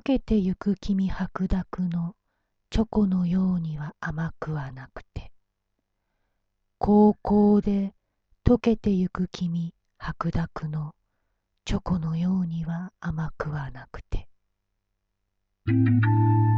けてゆく君白濁のチョコのようには甘くはなくて、高校で溶けてゆく君白濁のチョコのようには甘くはなくて。